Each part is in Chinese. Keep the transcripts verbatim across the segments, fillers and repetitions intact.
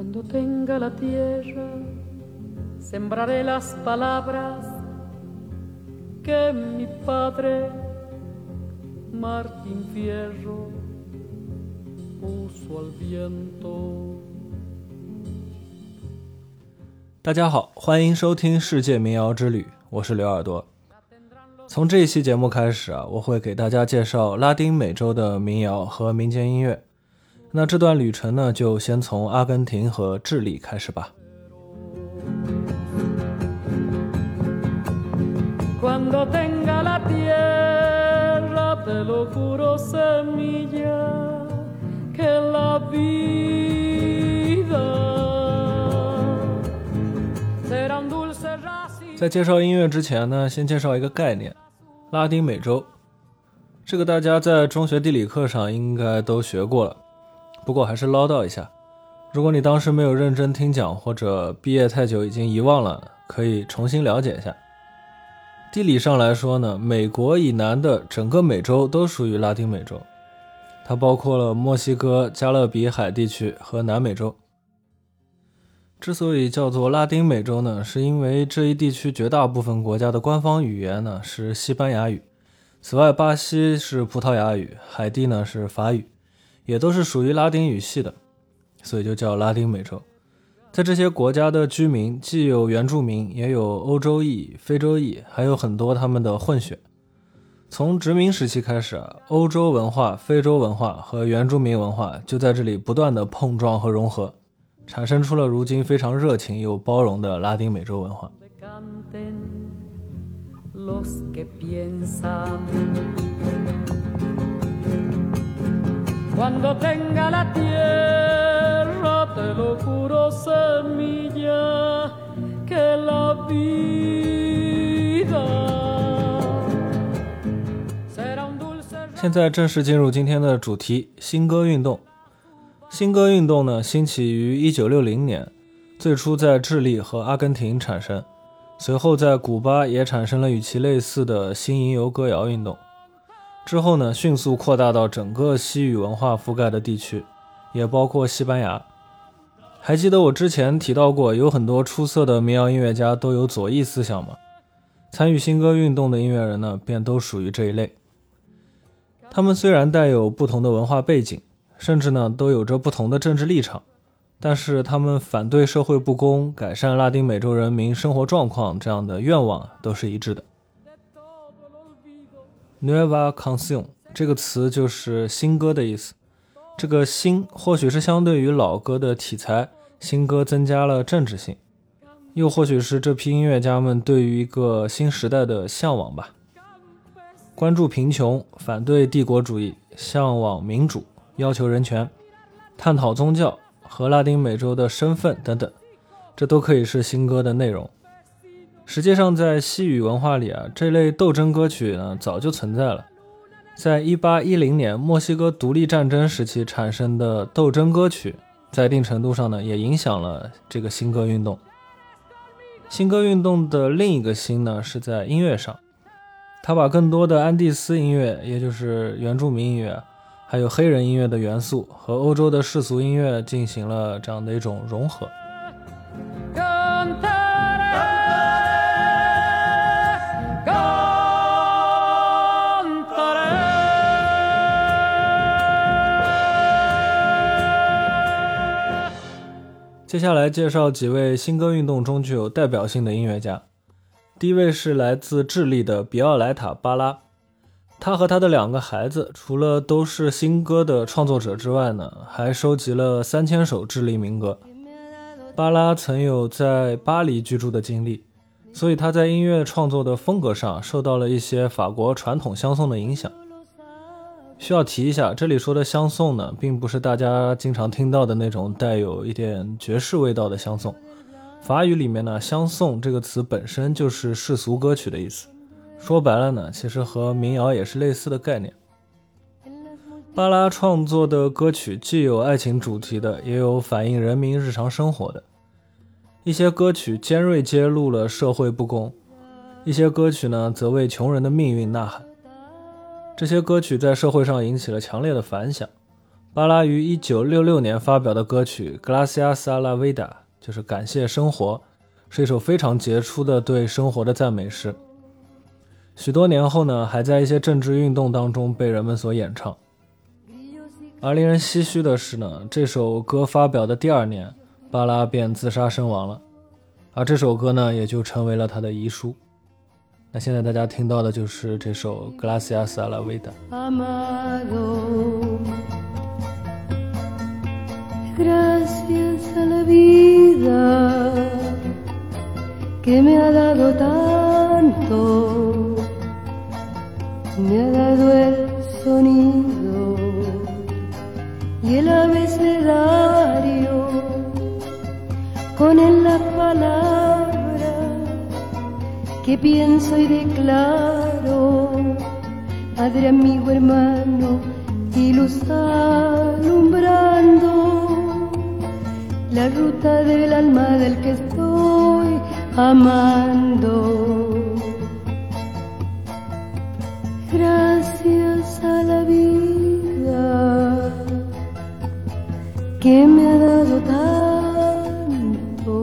Cuando tenga la tierra, sembraré las palabras que mi padre Martín Fierro puso al viento。 大家好，欢迎收听世界民谣之旅，我是刘耳朵。从这一期节目开始啊，我会给大家介绍拉丁美洲的民谣和民间音乐。那这段旅程呢，就先从阿根廷和智利开始吧。 Cuando tenga la tierra, te lo juro, semilla, que la vida será un dulce racimo。 在介绍音乐之前呢，先介绍一个概念，拉丁美洲。这个大家在中学地理课上应该都学过了，不过还是唠叨一下。如果你当时没有认真听讲，或者毕业太久已经遗忘了，可以重新了解一下。地理上来说呢，美国以南的整个美洲都属于拉丁美洲，它包括了墨西哥、加勒比海地区和南美洲。之所以叫做拉丁美洲呢，是因为这一地区绝大部分国家的官方语言呢是西班牙语，此外巴西是葡萄牙语，海地呢是法语，也都是属于拉丁语系的，所以就叫拉丁美洲。在这些国家的居民既有原住民，也有欧洲裔、非洲裔，还有很多他们的混血。从殖民时期开始啊，欧洲文化、非洲文化和原住民文化就在这里不断的碰撞和融合，产生出了如今非常热情又包容的拉丁美洲文化。 Cuando tenga la tierra, te lo juro, semilla, que la vida será un dulce。 现在正式进入今天的主题，新歌运动。新歌运动呢，兴起于一九六零年，最初在智利和阿根廷产生，随后在古巴也产生了与其类似的新吟游歌谣运动。之后呢，迅速扩大到整个西语文化覆盖的地区，也包括西班牙。还记得我之前提到过，有很多出色的民谣音乐家都有左翼思想吗？参与新歌运动的音乐人呢，便都属于这一类。他们虽然带有不同的文化背景，甚至呢都有着不同的政治立场，但是他们反对社会不公、改善拉丁美洲人民生活状况这样的愿望都是一致的。Nueva Canción 这个词就是新歌的意思，这个新或许是相对于老歌的题材，新歌增加了政治性，又或许是这批音乐家们对于一个新时代的向往吧。关注贫穷，反对帝国主义，向往民主，要求人权，探讨宗教和拉丁美洲的身份等等，这都可以是新歌的内容。实际上在西语文化里啊，这类斗争歌曲呢早就存在了。在一八一零年墨西哥独立战争时期产生的斗争歌曲，在一定程度上呢也影响了这个新歌运动。新歌运动的另一个新呢是在音乐上，它把更多的安第斯音乐，也就是原住民音乐，还有黑人音乐的元素和欧洲的世俗音乐进行了这样的一种融合。接下来介绍几位新歌运动中具有代表性的音乐家。第一位是来自智利的比奥莱塔·巴拉，他和他的两个孩子除了都是新歌的创作者之外呢，还收集了三千首智利民歌。巴拉曾有在巴黎居住的经历，所以他在音乐创作的风格上受到了一些法国传统香颂的影响。需要提一下，这里说的香颂呢，并不是大家经常听到的那种带有一点爵士味道的香颂。法语里面呢，香颂这个词本身就是世俗歌曲的意思，说白了呢，其实和民谣也是类似的概念。巴拉创作的歌曲既有爱情主题的，也有反映人民日常生活的。一些歌曲尖锐揭露了社会不公，一些歌曲呢，则为穷人的命运呐喊。这些歌曲在社会上引起了强烈的反响， 巴拉于一九六六年发表的歌曲 Gracias a la vida 就是感谢生活，是一首非常杰出的对生活的赞美诗。许多年后呢，还在一些政治运动当中被人们所演唱。而令人唏嘘的是呢，这首歌发表的第二年，巴拉便自杀身亡了，而这首歌呢，也就成为了他的遗书。那现在大家听到的就是这首 Gracias a la vida。 Amado, gracias a la vida que me ha dado tanto, me ha dado el sonido y el abecedario, con él la palabra que pienso y declaro, Padre, amigo, hermano, y luz alumbrando la ruta del alma del que estoy amando. Gracias a la vida que me ha dado tanto,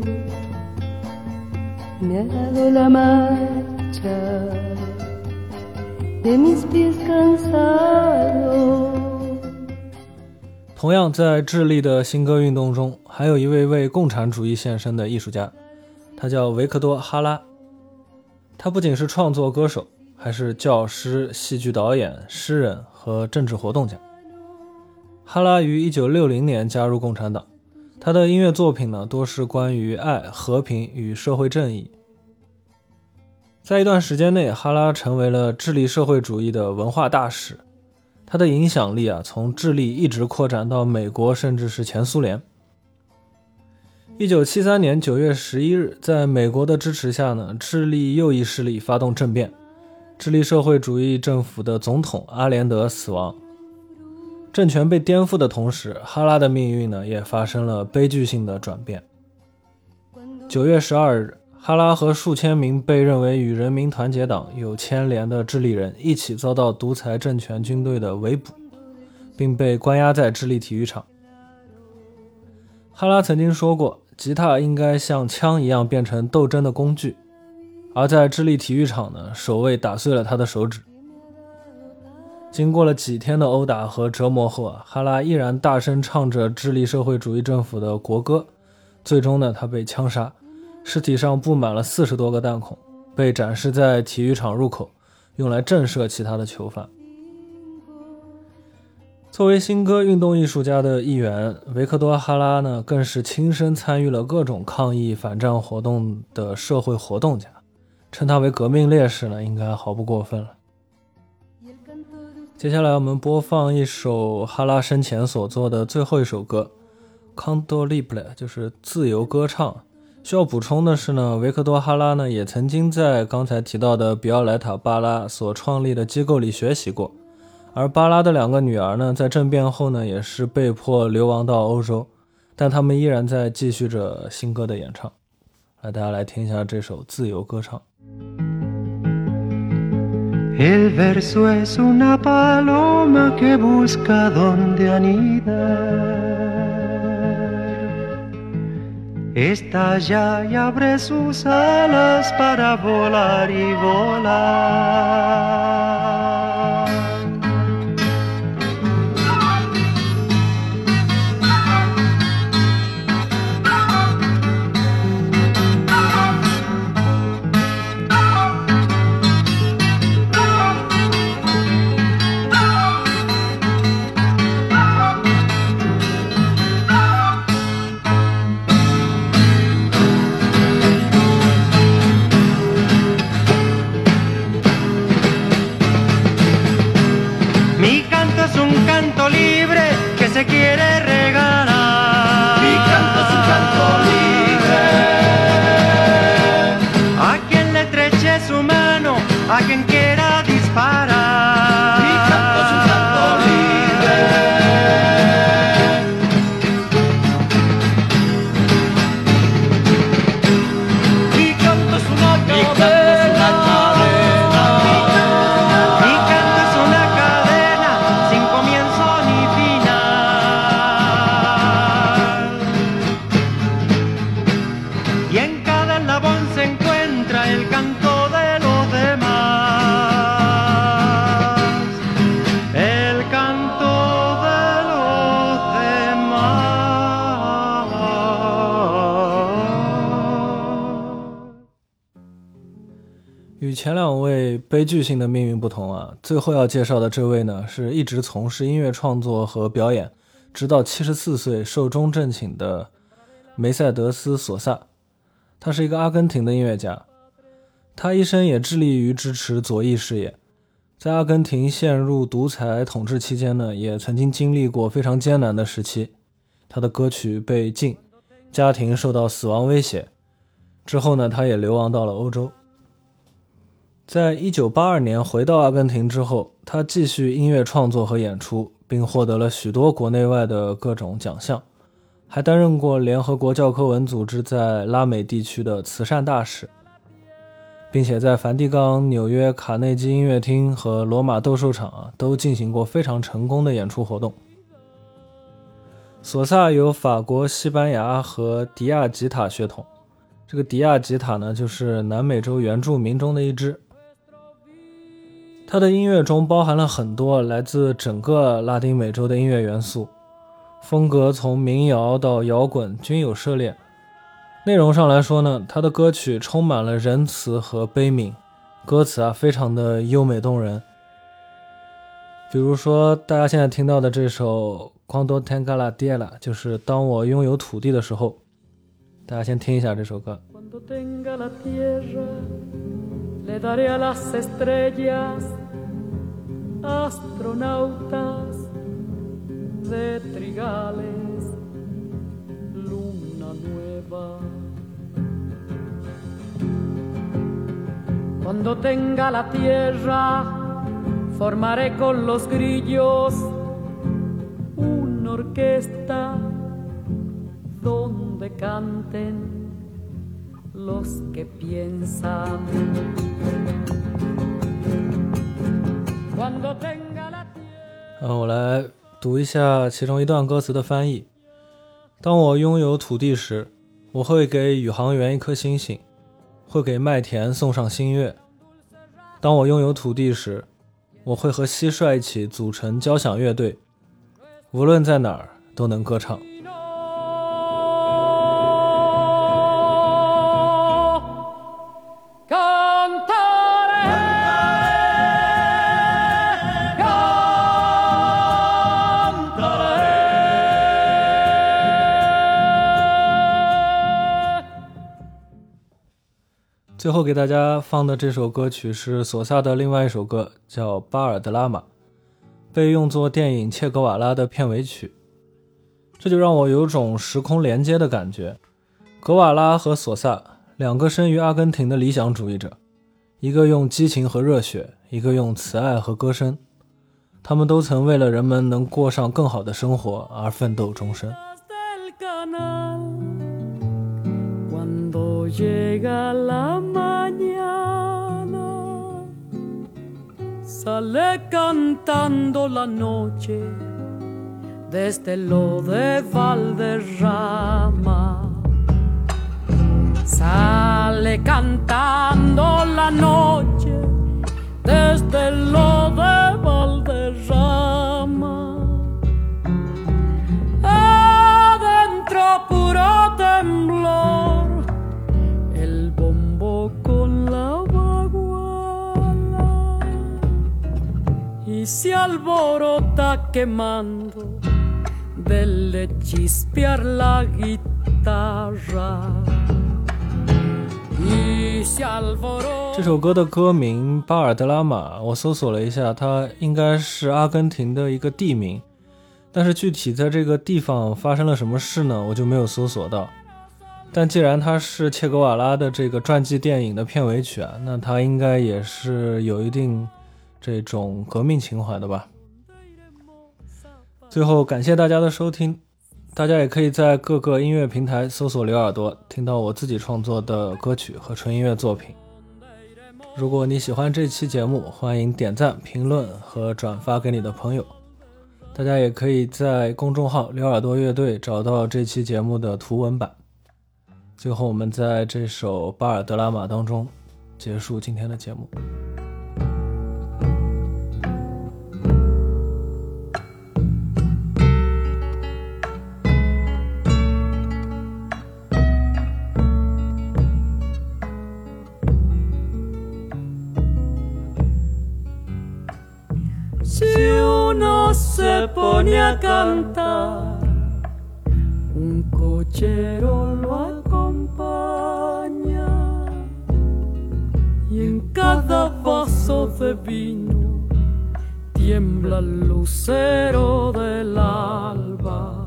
me ha dado la marcha de mis pies cansados。 同样在智利的新歌运动中，还有一位为共产主义献身的艺术家，他叫维克多·哈拉。他不仅是创作歌手，还是教师、戏剧导演、诗人和政治活动家。哈拉于一九六零年加入共产党，他的音乐作品呢，多是关于爱、和平与社会正义。在一段时间内，哈拉成为了智利社会主义的文化大使，他的影响力啊，从智利一直扩展到美国，甚至是前苏联。一九七三年九月十一日，在美国的支持下呢，智利右翼势力发动政变，智利社会主义政府的总统阿连德死亡。政权被颠覆的同时，哈拉的命运呢，也发生了悲剧性的转变。九月十二日，哈拉和数千名被认为与人民团结党有牵连的智利人一起遭到独裁政权军队的围捕，并被关押在智利体育场。哈拉曾经说过，吉他应该像枪一样变成斗争的工具，而在智利体育场呢，守卫打碎了他的手指。经过了几天的殴打和折磨后啊，哈拉依然大声唱着智利社会主义政府的国歌，最终呢，他被枪杀，尸体上布满了四十多个弹孔，被展示在体育场入口，用来震慑其他的囚犯。作为新歌运动艺术家的一员，维克多·哈拉呢，更是亲身参与了各种抗议反战活动的社会活动家，称他为革命烈士呢，应该毫不过分了。接下来我们播放一首哈拉生前所作的最后一首歌 Canto Libre， 就是自由歌唱。需要补充的是呢，维克多哈拉呢也曾经在刚才提到的比奥莱塔巴拉所创立的机构里学习过，而巴拉的两个女儿呢，在政变后呢也是被迫流亡到欧洲，但他们依然在继续着新歌的演唱。来，大家来听一下这首自由歌唱。 El verso es una paloma que busca donde anidar. Estalla y abre sus alas para volar y volar. Se quiere regalar. Mi canto es un canto libre. A quien le estreche su mano, a quien quiera disparar. Mi canto es un canto libre. Mi canto es una cadena. Mi canto es una cadena sin comienzo ni final. 前两位悲剧性的命运不同啊，最后要介绍的这位呢，是一直从事音乐创作和表演，直到七十四岁寿终正寝的梅赛德斯·索萨。他是一个阿根廷的音乐家，他一生也致力于支持左翼事业。在阿根廷陷入独裁统治期间呢，也曾经经历过非常艰难的时期。他的歌曲被禁，家庭受到死亡威胁。之后呢，他也流亡到了欧洲。在一九八二年回到阿根廷之后，他继续音乐创作和演出，并获得了许多国内外的各种奖项，还担任过联合国教科文组织在拉美地区的慈善大使，并且在梵蒂冈、纽约卡内基音乐厅和罗马斗兽场啊，都进行过非常成功的演出活动。索萨有法国、西班牙和迪亚吉塔血统，这个迪亚吉塔呢，就是南美洲原住民中的一支。他的音乐中包含了很多来自整个拉丁美洲的音乐元素，风格从民谣到摇滚均有涉猎。内容上来说呢，他的歌曲充满了仁慈和悲悯，歌词啊非常的优美动人。比如说大家现在听到的这首 Cuando tenga la tierra， 就是当我拥有土地的时候。大家先听一下这首歌。 Cuando tenga la tierra, le daré a las estrellas, astronautas de trigales, luna nueva. Cuando tenga la tierra, formaré con los grillos una orquesta donde canten los que piensan. Cuando tenga la tierra， 嗯，我来读一下其中一段歌词的翻译。当我拥有土地时，我会给宇航员一颗星星，会给麦田送上新月。当我拥有土地时，我会和蟋蟀一起组成交响乐队，无论在哪儿都能歌唱。最后给大家放的这首歌曲是索萨的另外一首歌，叫《巴尔德拉玛》，被用作电影《切格瓦拉》的片尾曲。这就让我有种时空连接的感觉。格瓦拉和索萨，两个生于阿根廷的理想主义者，一个用激情和热血，一个用慈爱和歌声。他们都曾为了人们能过上更好的生活而奋斗终身。 Cuando llega la mañana, sale cantando la noche desde lo de Valderrama. Sale cantando la noche desde lo de Valderrama.Adentro puro temblor.El bombo con la baguala y se alborota quemando del chispear la guitarra y se alborota。 这首歌的歌名巴尔德拉玛，我搜索了一下，它应该是阿根廷的一个地名，但是具体在这个地方发生了什么事呢，我就没有搜索到。但既然它是切格瓦拉的这个传记电影的片尾曲啊，那它应该也是有一定这种革命情怀的吧。最后感谢大家的收听，大家也可以在各个音乐平台搜索刘耳朵，听到我自己创作的歌曲和纯音乐作品。如果你喜欢这期节目，欢迎点赞、评论和转发给你的朋友。大家也可以在公众号刘耳朵乐队找到这期节目的图文版。最后我们在这首巴尔德拉玛当中结束今天的节目。 uno se pone a cantar, un cochero lo acompaña y en cada vaso de vino tiembla el lucero del alba.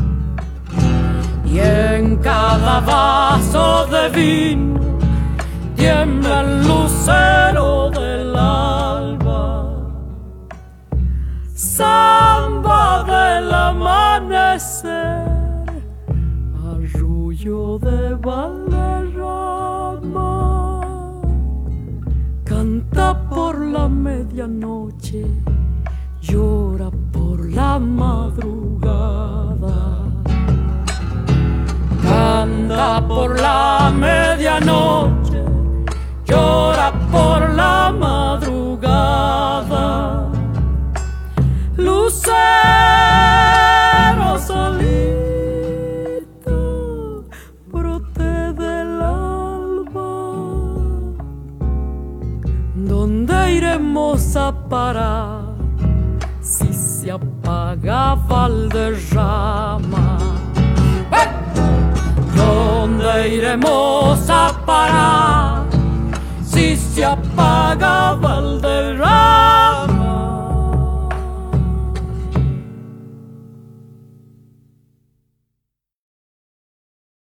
Y en cada vaso de vino tiembla el lucero del alba. Samba del amanecer, arrullo de Valderrama, canta por la medianoche, llora por la madrugada. Canta por la medianoche, llora por la madrugada. Lucero solito, brote del alba, ¿dónde iremos a parar si se apaga Valderrama? ¿Dónde iremos a parar si se apaga Valderrama?